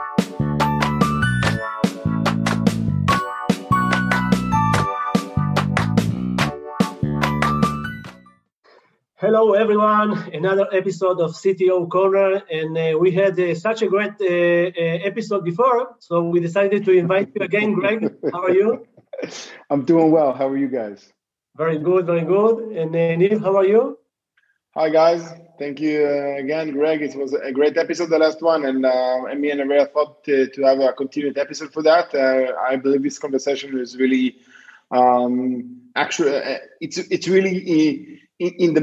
Hello, everyone. Another episode of CTO Corner, and we had such a great episode before, so we decided to invite you again. Greg, how are you? I'm doing well. How are you guys? Very good, very good. And Neil, how are you? Hi, guys. Thank you again, Greg. It was a great episode, the last one, and me and Ariel thought to have a continued episode for that. I believe this conversation is really, it's really in the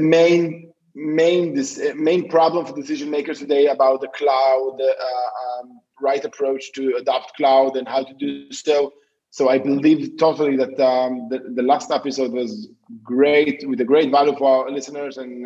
main problem for decision makers today about the cloud, right approach to adopt cloud and how to do so. So I believe totally that the last episode was great, with a great value for our listeners, and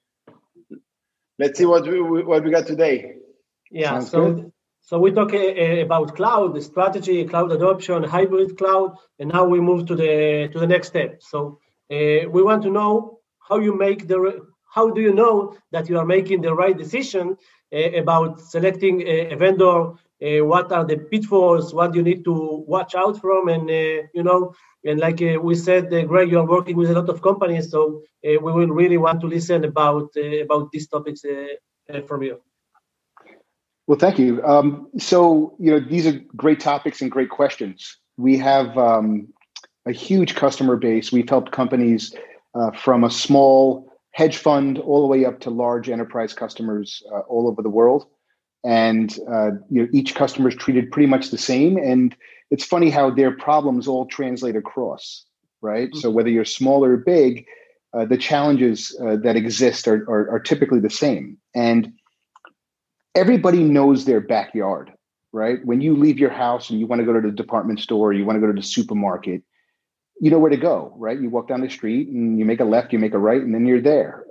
let's see what we got today. Yeah, so we talk about cloud, the strategy, cloud adoption, hybrid cloud, and now we move to the next step. So we want to know how do you know that you are making the right decision about selecting a vendor? What are the pitfalls? What do you need to watch out from? And and like we said, Greg, you are working with a lot of companies, so we will really want to listen about these topics from you. Well, thank you. So these are great topics and great questions. We have a huge customer base. We've helped companies from a small hedge fund all the way up to large enterprise customers all over the world. And each customer is treated pretty much the same. And it's funny how their problems all translate across, right? Mm-hmm. So whether you're small or big, the challenges that exist are typically the same. And everybody knows their backyard, right? When you leave your house and you want to go to the department store, you want to go to the supermarket, you know where to go, right? You walk down the street and you make a left, you make a right, and then you're there.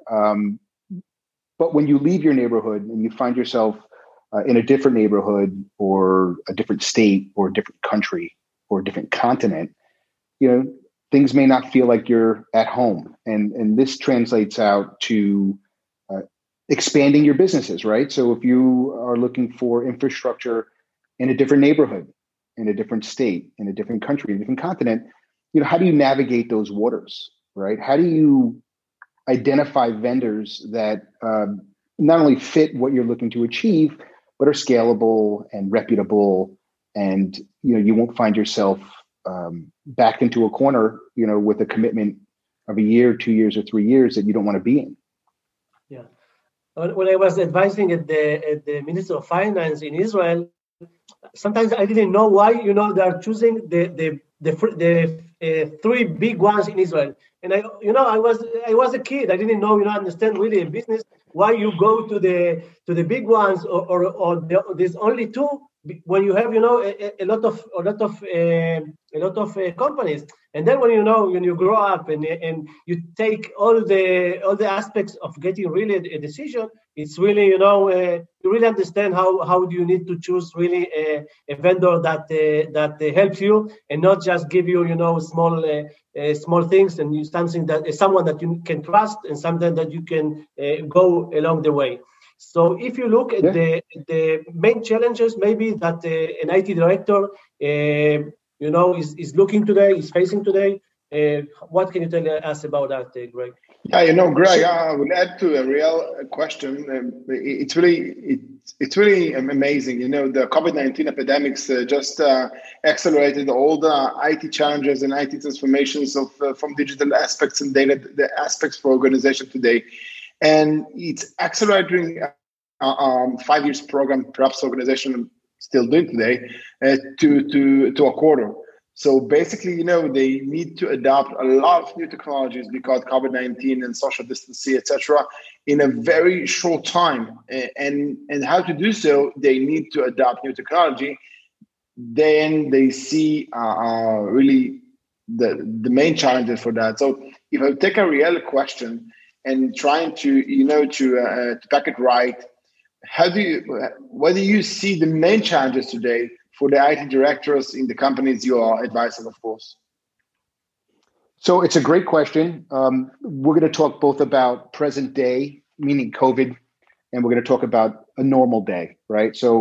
But when you leave your neighborhood and you find yourself in a different neighborhood or a different state or a different country or a different continent, things may not feel like you're at home. And this translates out to expanding your businesses, right? So if you are looking for infrastructure in a different neighborhood, in a different state, in a different country, a different continent, how do you navigate those waters, right? How do you identify vendors that not only fit what you're looking to achieve, but are scalable and reputable, and you won't find yourself backed into a corner, with a commitment of a year, 2 years, or 3 years that you don't want to be in. Yeah. When I was advising at the Minister of Finance in Israel, sometimes I didn't know why they are choosing the three big ones in Israel. And I was a kid. I didn't know, understand really a business why you go to the big ones or there's only two when you have a lot of companies. And then when you grow up and you take all the aspects of getting really a decision, it's really you really understand how do you need to choose really a vendor that helps you and not just give you small things, and someone that you can trust and something that you can go along the way. So if you look at the main challenges, maybe that an IT director is looking today, is facing today, what can you tell us about that, Greg? Yeah, Greg, I would add to a real question. It's really amazing. The COVID-19 epidemics just accelerated all the IT challenges and IT transformations from digital aspects and data the aspects for organization today. And it's accelerating 5 years program, perhaps organization still doing today, to a quarter. So basically, they need to adopt a lot of new technologies because COVID-19 and social distancing, etc., in a very short time. And how to do so, they need to adopt new technology. Then they see really the main challenges for that. So if I take a real question and trying to pack it right, what do you see the main challenges today for the IT directors in the companies you are advising, of course? So it's a great question. We're going to talk both about present day, meaning COVID, and we're going to talk about a normal day, right? So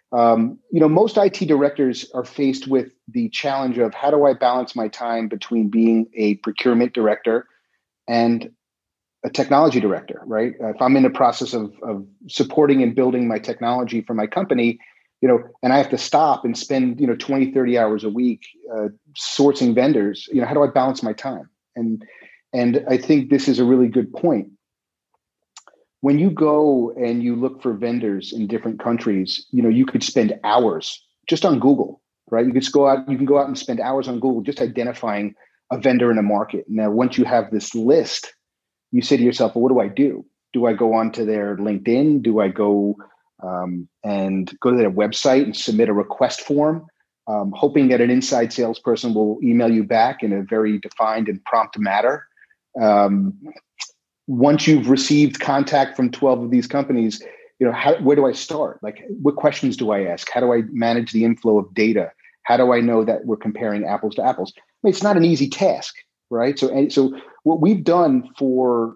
Most IT directors are faced with the challenge of how do I balance my time between being a procurement director and a technology director, right? If I'm in the process of supporting and building my technology for my company, and I have to stop and spend, 20, 30 hours a week sourcing vendors, how do I balance my time? And I think this is a really good point. When you go and you look for vendors in different countries, you could spend hours just on Google, right? You can go out and spend hours on Google just identifying a vendor in a market. Now, once you have this list, you say to yourself, well, what do I do? Do I go onto their LinkedIn? Do I go and go to their website and submit a request form, hoping that an inside salesperson will email you back in a very defined and prompt manner? Once you've received contact from 12 of these companies, where do I start? Like, what questions do I ask? How do I manage the inflow of data? How do I know that we're comparing apples to apples? I mean, it's not an easy task, right? So what we've done for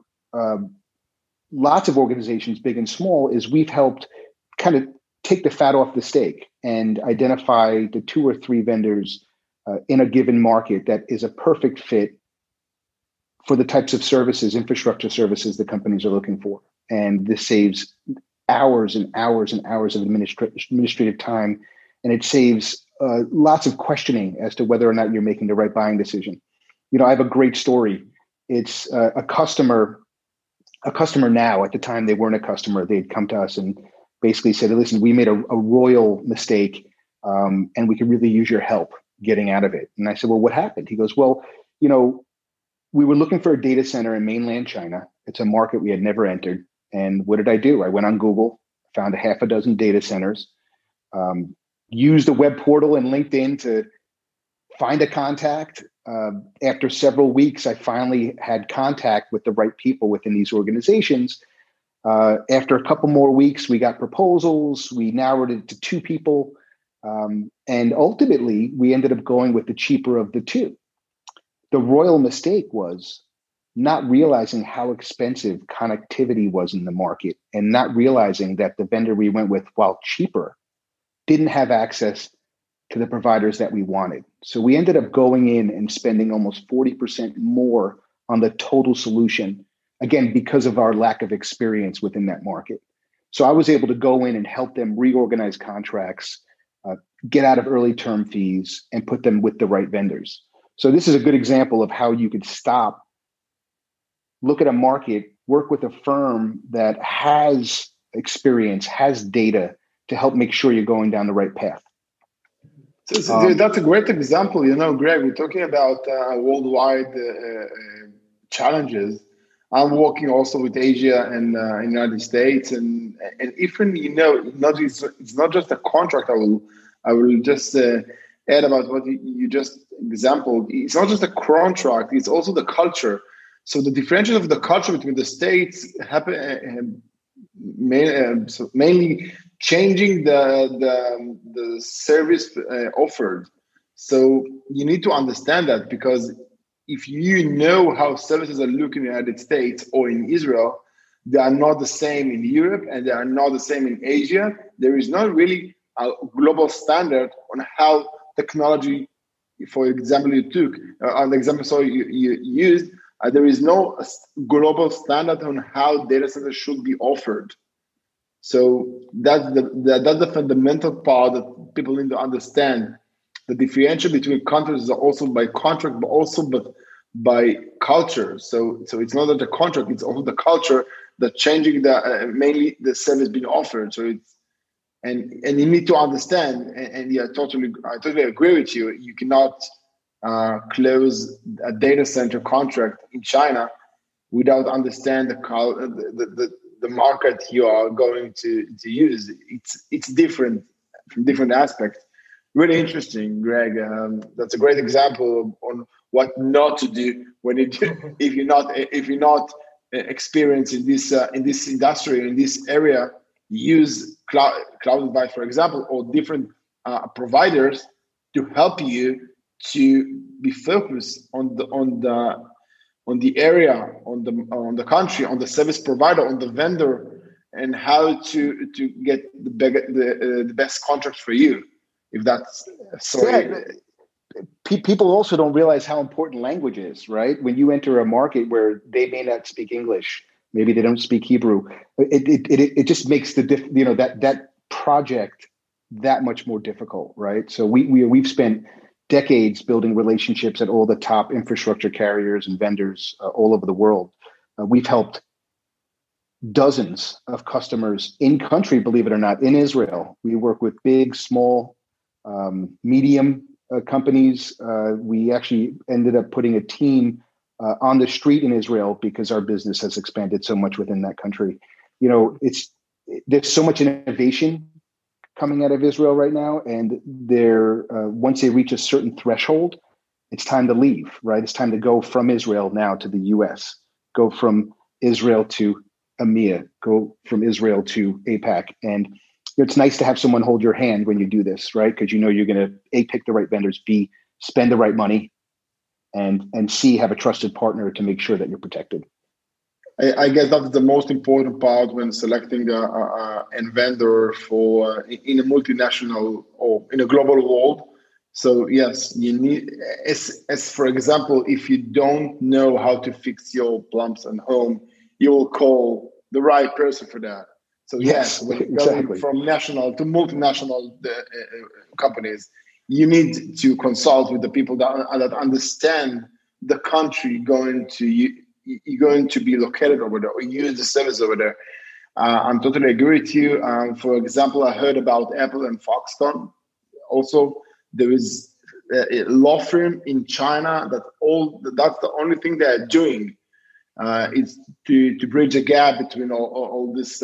lots of organizations, big and small, is we've helped kind of take the fat off the steak and identify the 2 or 3 vendors in a given market that is a perfect fit for the types of services, infrastructure services that companies are looking for. And this saves hours and hours and hours of administrative time. And it saves lots of questioning as to whether or not you're making the right buying decision. I have a great story. It's a customer now. At the time, they weren't a customer. They'd come to us and basically said, listen, we made a royal mistake and we could really use your help getting out of it. And I said, well, what happened? He goes, well, we were looking for a data center in mainland China. It's a market we had never entered. And what did I do? I went on Google, found a half a dozen data centers, used the web portal and LinkedIn to find a contact. After several weeks, I finally had contact with the right people within these organizations. After a couple more weeks, we got proposals. We narrowed it to 2 people. And ultimately, we ended up going with the cheaper of the 2. The royal mistake was not realizing how expensive connectivity was in the market and not realizing that the vendor we went with, while cheaper, didn't have access to the providers that we wanted. So we ended up going in and spending almost 40% more on the total solution, again, because of our lack of experience within that market. So I was able to go in and help them reorganize contracts, get out of early term fees, and put them with the right vendors. So this is a good example of how you could stop, look at a market, work with a firm that has experience, has data to help make sure you're going down the right path. So that's a great example. Greg, we're talking about worldwide challenges. I'm working also with Asia and United States, and even it's not just a contract. I will just add about what you just exampled. It's not just a contract; it's also the culture. So the differentiation of the culture between the states happen mainly changing the service offered. So you need to understand that, because if you know how services are looking in the United States or in Israel, they are not the same in Europe and they are not the same in Asia. There is not really a global standard on how technology, for example, you took, on the example you used, there is no global standard on how data centers should be offered. So that's the fundamental part that people need to understand. The differentiation between countries is also by contract, but also by culture. So it's not that the contract; it's also the culture that changing mainly the service being offered. So it's and you need to understand. And yeah, I totally agree with you. You cannot close a data center contract in China without understand the market you are going to use. It's different from different aspects. Really interesting, Greg. That's a great example on what not to do if you're not experienced in this industry, in this area. Use cloud advice, for example, or different providers to help you to be focused on the area, on the country, on the service provider, on the vendor and how to get the best contract for you. If that's people also don't realize how important language is, right? When you enter a market where they may not speak English, maybe they don't speak Hebrew, it just makes that project that much more difficult, right? So we've spent decades building relationships at all the top infrastructure carriers and vendors all over the world. We've helped dozens of customers in country, believe it or not, in Israel. We work with big, small, medium companies. We actually ended up putting a team on the street in Israel because our business has expanded so much within that country. There's so much innovation coming out of Israel right now, and once they reach a certain threshold, it's time to leave, right? It's time to go from Israel now to the US, go from Israel to EMEA, go from Israel to APAC. And it's nice to have someone hold your hand when you do this, right? Because you're going to A, pick the right vendors, B, spend the right money, and C, have a trusted partner to make sure that you're protected. I guess that's the most important part when selecting a vendor for in a multinational or in a global world. So yes, you need, as for example, if you don't know how to fix your plumbs at home, you will call the right person for that. So yes, when exactly. Going from national to multinational companies, you need to consult with the people that understand the country you're going to be located over there or use the service over there. I'm totally agree with you. For example, I heard about Apple and Foxconn. Also, there is a law firm in China that's the only thing they're doing. Is to bridge a gap between all this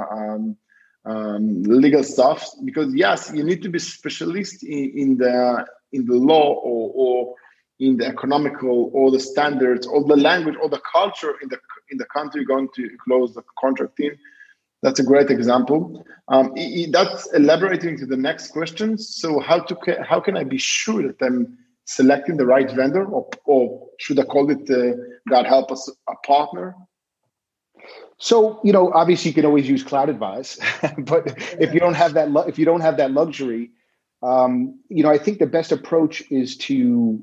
legal stuff, because yes, you need to be specialist in the law or in the economical or the standards or the language or the culture in the country you're going to close the contract in. That's a great example. That's elaborating to the next question. So how can I be sure that I'm selecting the right vendor, or should I call it, God help us, a partner? So, obviously you can always use CloudAdvise, but if you don't have that luxury, I think the best approach is to,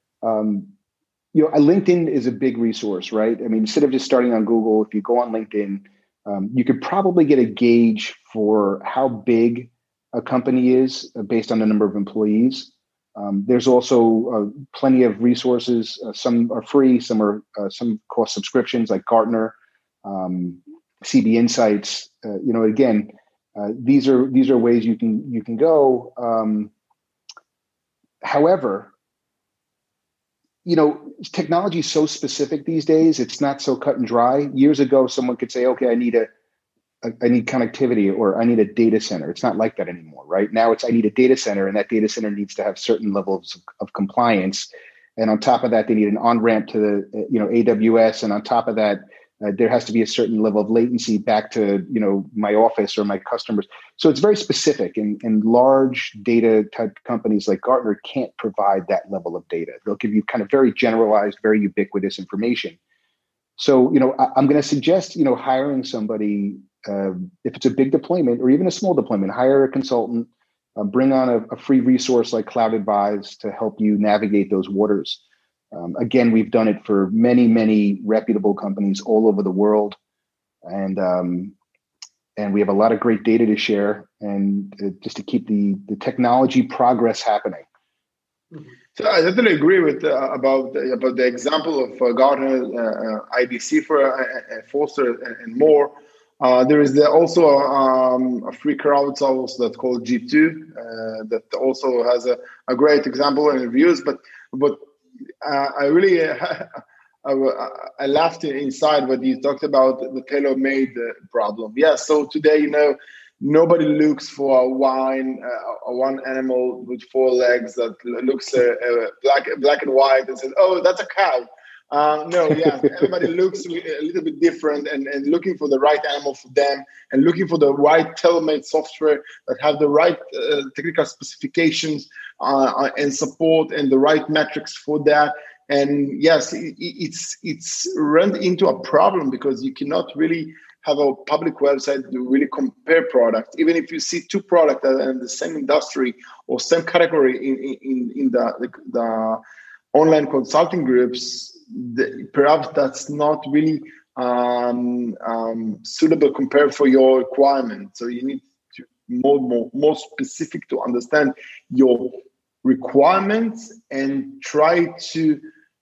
LinkedIn is a big resource, right? I mean, instead of just starting on Google, if you go on LinkedIn, you could probably get a gauge for how big a company is based on the number of employees. There's also plenty of resources. Some are free, some cost subscriptions like Gartner, CB Insights. Again, these are ways you can go. However, technology is so specific these days. It's not so cut and dry. Years ago, someone could say, "Okay, I need connectivity, or I need a data center." It's not like that anymore, right? Now I need a data center, and that data center needs to have certain levels of compliance. And on top of that, they need an on-ramp to the, AWS. And on top of that, there has to be a certain level of latency back to, my office or my customers. So it's very specific, and large data type companies like Gartner can't provide that level of data. They'll give you kind of very generalized, very ubiquitous information. So, I'm going to suggest, hiring somebody, if it's a big deployment or even a small deployment, hire a consultant, bring on a free resource like CloudAdvise to help you navigate those waters. Again, we've done it for many, many reputable companies all over the world. And we have a lot of great data to share, and just to keep the technology progress happening. So I definitely agree with about the example of Gartner, IDC for Forrester, and more. There is also a free crowdsource that's called G2 that also has a great example and reviews. But I really I laughed inside when you talked about the tailor-made problem. Yeah, so today, nobody looks for a one animal with four legs that looks black and white and says, "Oh, that's a cow." No, yeah, everybody looks a little bit different, and looking for the right animal for them, and looking for the right tailor-made software that have the right technical specifications and support and the right metrics for that. And yes, it's run into a problem because you cannot really have a public website to really compare products. Even if you see two products that are in the same industry or same category in the online consulting groups, perhaps that's not really suitable compared for your requirement. So you need to more specific to understand your requirements and try to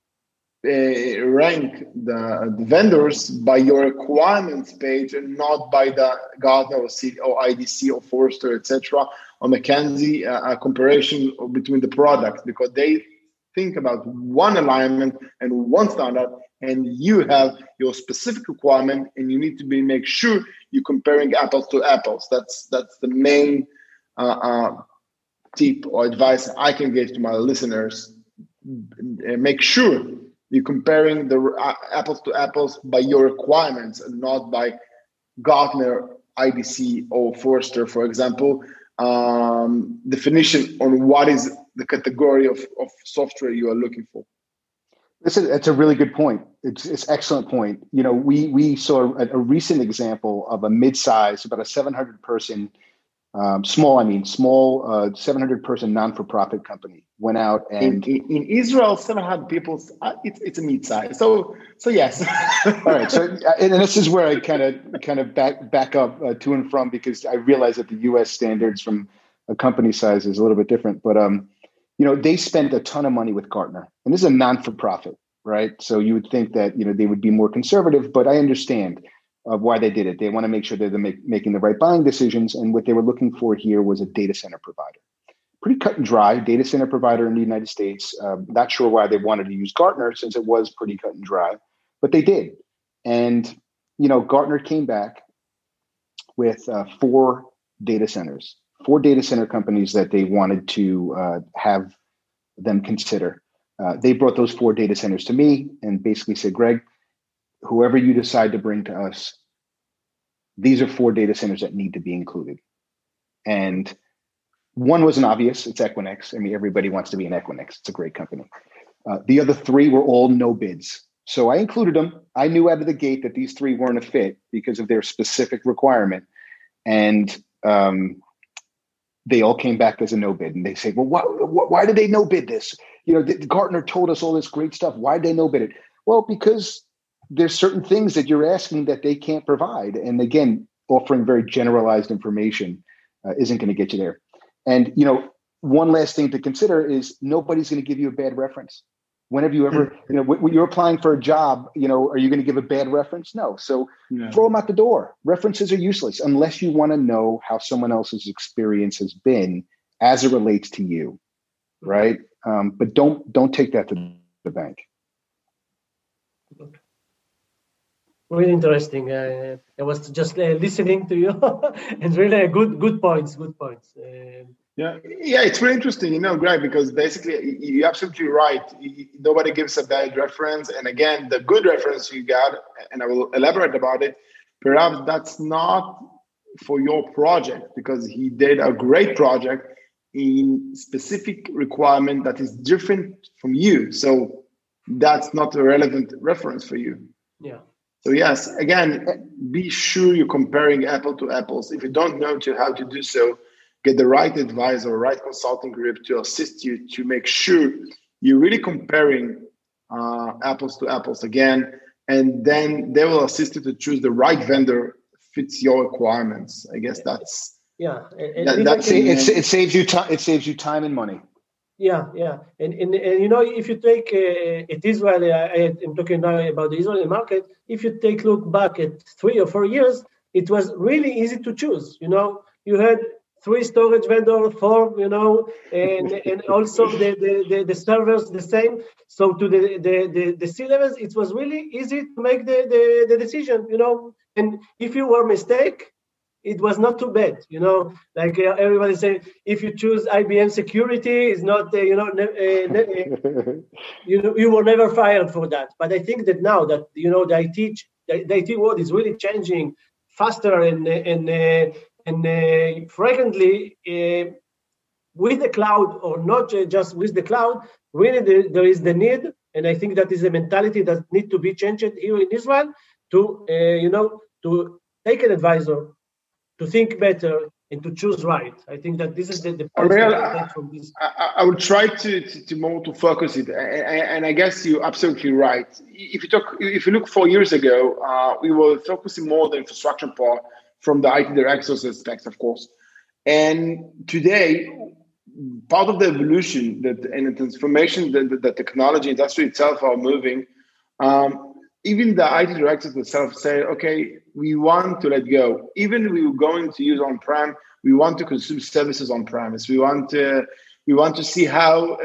rank the vendors by your requirements page and not by the Gartner or IDC or Forrester, etc., or McKinsey comparison between the products, because they think about one alignment and one standard, and you have your specific requirement, and you need to make sure you're comparing apples to apples. That's the main tip or advice I can give to my listeners. Make sure you're comparing the apples to apples by your requirements and not by Gartner, IDC, or Forrester, for example, definition on what is the category of software you are looking for. That's a really good point. It's an excellent point. You know, we saw a recent example of a mid-size, about a 700-person, small 700-person non-for-profit company went out and in Israel, 700 people. It's a mid-size. So yes. All right. So and this is where I kind of back up to and from, because I realize that the U.S. standards from a company size is a little bit different, but you know, they spent a ton of money with Gartner, and this is a non-for-profit, right? So you would think that, you know, they would be more conservative, but I understand why they did it. They want to make sure that they're making the right buying decisions, and what they were looking for here was a data center provider. Pretty cut and dry data center provider in the United States. Not sure why they wanted to use Gartner, since it was pretty cut and dry, but they did. And, you know, Gartner came back with 4 data center companies that they wanted to have them consider. They brought those 4 data centers to me and basically said, Greg, whoever you decide to bring to us, these are 4 data centers that need to be included. And one was an obvious, it's Equinix. I mean, everybody wants to be in Equinix. It's a great company. The other 3 were all no bids. So I included them. I knew out of the gate that these 3 weren't a fit because of their specific requirement. And they all came back as a no bid. And they say, well, why did they no bid this? You know, Gartner told us all this great stuff. Why did they no bid it? Well, because there's certain things that you're asking that they can't provide. And again, offering very generalized information isn't going to get you there. And, you know, one last thing to consider is nobody's going to give you a bad reference. When have you ever, you know, when you're applying for a job, you know, are you going to give a bad reference? No. So throw them out the door. References are useless unless you want to know how someone else's experience has been as it relates to you, right? But don't take that to the bank. Really interesting. I was just listening to you, and really good points. Yeah, it's very interesting, you know, Greg, because basically you're absolutely right. Nobody gives a bad reference, and again, the good reference you got, and I will elaborate about it. Perhaps that's not for your project because he did a great project in specific requirement that is different from you. So that's not a relevant reference for you. Yeah. So yes, again, be sure you're comparing apple to apples. If you don't know how to do so, get the right advisor, right consulting group to assist you to make sure you're really comparing apples to apples again, and then they will assist you to choose the right vendor fits your requirements. I guess that's it saves you time. It saves you time and money. Yeah, and you know, if you take it Israel, I'm talking now about the Israeli market. If you look back at 3 or 4 years, it was really easy to choose. You know, you had 3 storage vendors, 4, you know, and also the servers the same. So to the C levels, it was really easy to make the decision. You know, and if you were mistake, it was not too bad, you know. Like everybody say, if you choose IBM security, it's not, you were never fired for that. But I think that now that, you know, the IT world is really changing faster and frequently with the cloud, or not just with the cloud. Really, there is the need, and I think that is a mentality that needs to be changed here in Israel to take an advisor to think better and to choose right. I think that this is the point Ariel, that I take from this. I would try to more to focus it, and I guess you're absolutely right. If you look 4 years ago, we were focusing more on the infrastructure part from the IT director's aspect, of course. And today, part of the evolution and the transformation that the technology industry itself are moving, even the IT directors themselves say, okay, we want to let go. Even we were going to use on-prem, we want to consume services on-premise. We want to see how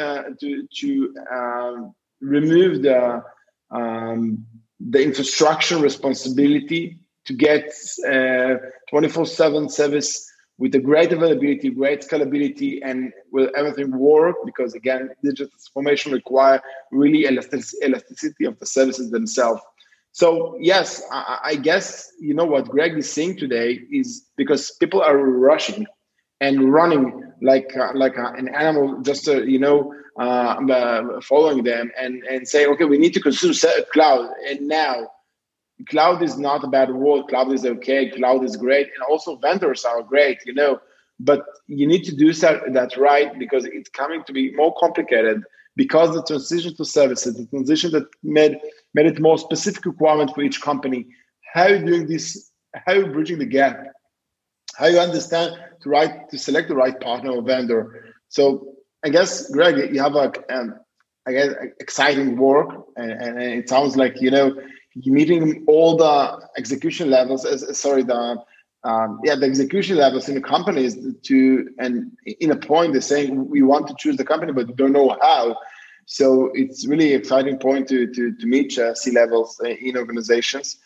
to remove the infrastructure responsibility to get 24/7 service with a great availability, great scalability, and will everything work? Because again, digital transformation require really elasticity of the services themselves. So yes, I guess what Greg is saying today is because people are rushing and running like an animal, just following them and say, okay, we need to consume cloud. And now, cloud is not a bad word. Cloud is okay. Cloud is great, and also vendors are great, But you need to do that right, because it's coming to be more complicated. Because the transition to services, the transition that made it more specific requirement for each company. How are you doing this? How are you bridging the gap? How you understand to select the right partner or vendor? So I guess, Greg, you have exciting work, and it sounds like you're meeting all the execution levels. The execution levels in the companies and in a point they're saying we want to choose the company but don't know how. So it's really exciting point to meet C-levels in organizations.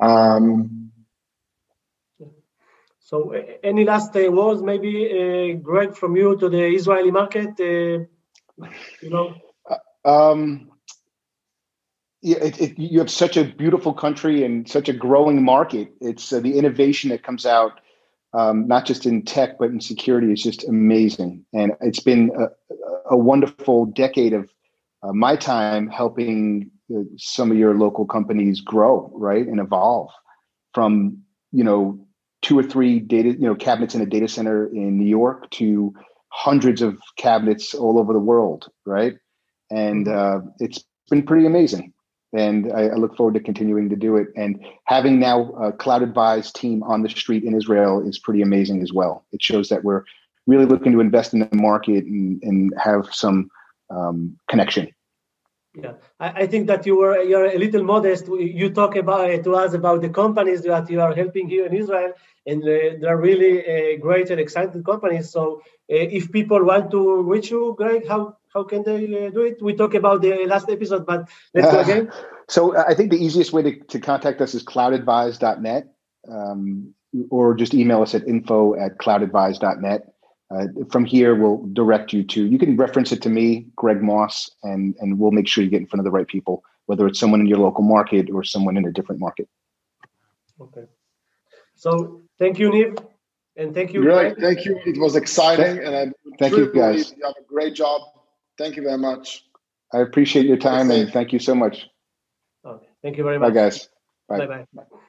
So any last words, maybe Greg, from you to the Israeli market? You have such a beautiful country and such a growing market. It's the innovation that comes out, not just in tech, but in security, is just amazing. And it's been a wonderful decade of my time helping some of your local companies grow, right, and evolve from, 2 or 3 data, cabinets in a data center in New York to hundreds of cabinets all over the world, right? And it's been pretty amazing. And I look forward to continuing to do it. And having now a CloudAdvise team on the street in Israel is pretty amazing as well. It shows that we're really looking to invest in the market and have some connection. Yeah, I think that you're a little modest. You talk to us about the companies that you are helping here in Israel, and they're really great and exciting companies. So if people want to reach you, Greg, how can they do it? We talked about the last episode, but let's go again. So I think the easiest way to contact us is cloudadvise.net, or just email us at info@cloudadvise.net. From here, we'll direct you to, you can reference it to me, Greg Moss, and we'll make sure you get in front of the right people, whether it's someone in your local market or someone in a different market. Okay. So thank you, Niv, and thank you. Great, thank you. It was exciting, and thank you, guys. You have a great job. Thank you very much. I appreciate your time, and thank you so much. Okay. Thank you very much. Bye, guys. Bye-bye.